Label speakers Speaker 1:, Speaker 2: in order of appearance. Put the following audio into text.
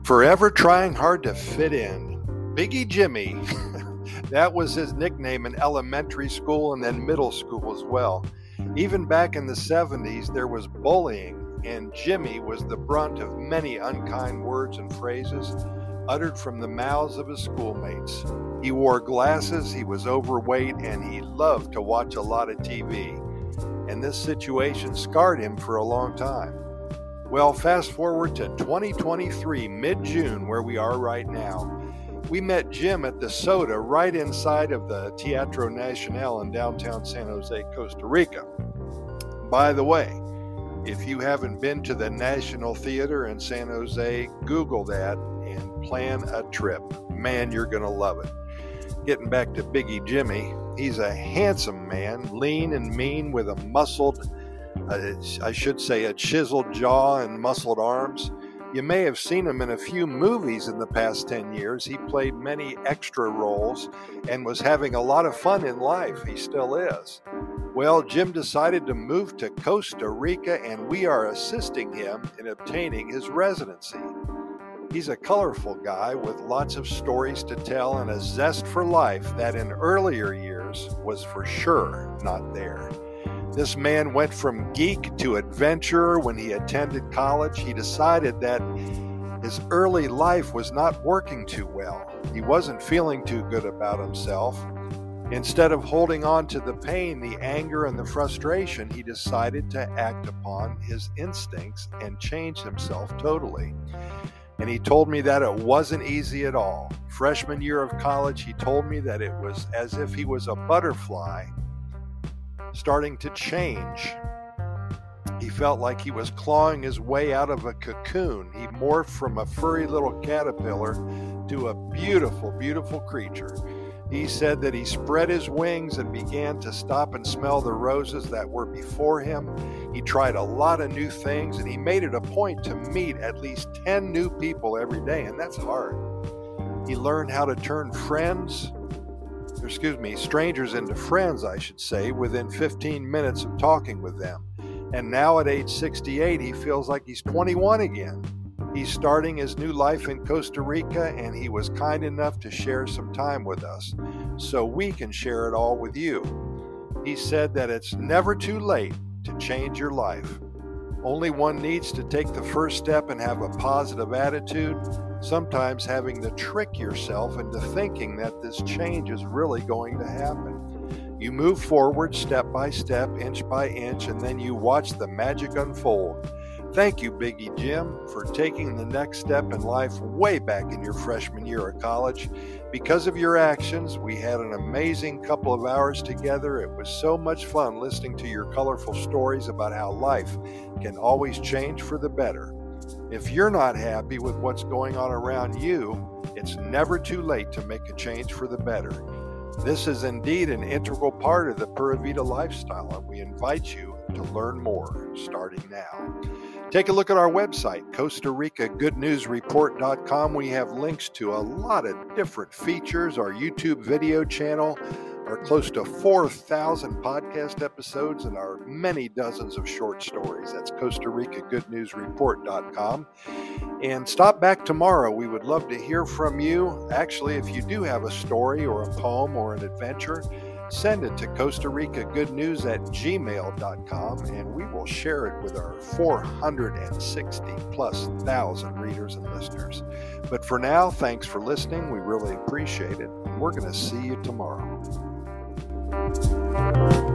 Speaker 1: Forever trying hard to fit in. Biggie Jimmy. That was his nickname in elementary school and then middle school as well. Even back in the 70s, there was bullying, and Jimmy was the brunt of many unkind words and phrases uttered from the mouths of his schoolmates. He wore glasses, he was overweight, and he loved to watch a lot of TV. And this situation scarred him for a long time. Well, fast forward to 2023, mid-June, where we are right now. We met Jim at the Soda right inside of the Teatro Nacional in downtown San Jose, Costa Rica. By the way, if you haven't been to the National Theater in San Jose, Google that and plan a trip. Man, you're going to love it. Getting back to Biggie Jimmy, he's a handsome man, lean and mean with a muscled, a chiseled jaw and muscled arms. You may have seen him in a few movies in the past 10 years. He played many extra roles and was having a lot of fun in life. He still is. Well, Jim decided to move to Costa Rica, and we are assisting him in obtaining his residency. He's a colorful guy with lots of stories to tell and a zest for life that in earlier years was for sure not there. This man went from geek to adventurer when he attended college. He decided that his early life was not working too well. He wasn't feeling too good about himself. Instead of holding on to the pain, the anger, and the frustration, he decided to act upon his instincts and change himself totally. And he told me that it wasn't easy at all. Freshman year of college, he told me that it was as if he was a butterfly starting to change. He felt like he was clawing his way out of a cocoon. He morphed from a furry little caterpillar to a beautiful, beautiful creature. He said that he spread his wings and began to stop and smell the roses that were before him. He tried a lot of new things, and he made it a point to meet at least 10 new people every day, and that's hard. He learned how to turn strangers into friends, I should say, within 15 minutes of talking with them. And now at age 68, he feels like he's 21 again. He's starting his new life in Costa Rica, and he was kind enough to share some time with us so we can share it all with you. He said that it's never too late to change your life. Only one needs to take the first step and have a positive attitude, sometimes having to trick yourself into thinking that this change is really going to happen. You move forward step by step, inch by inch, and then you watch the magic unfold. Thank you, Biggie Jim, for taking the next step in life way back in your freshman year of college. Because of your actions, we had an amazing couple of hours together. It was so much fun listening to your colorful stories about how life can always change for the better. If you're not happy with what's going on around you, it's never too late to make a change for the better. This is indeed an integral part of the Pura Vida lifestyle, and we invite you to learn more starting now. Take a look at our website, Costa Rica Good News Report.com. We have links to a lot of different features, our YouTube video channel, our close to 4,000 podcast episodes, and our many dozens of short stories. That's Costa Rica Good News Report.com. And stop back tomorrow. We would love to hear from you. Actually, if you do have a story or a poem or an adventure, send it to Costa Rica Good News at gmail.com, and we will share it with our 460,000+ readers and listeners. But for now, thanks for listening. We really appreciate it, and we're going to see you tomorrow.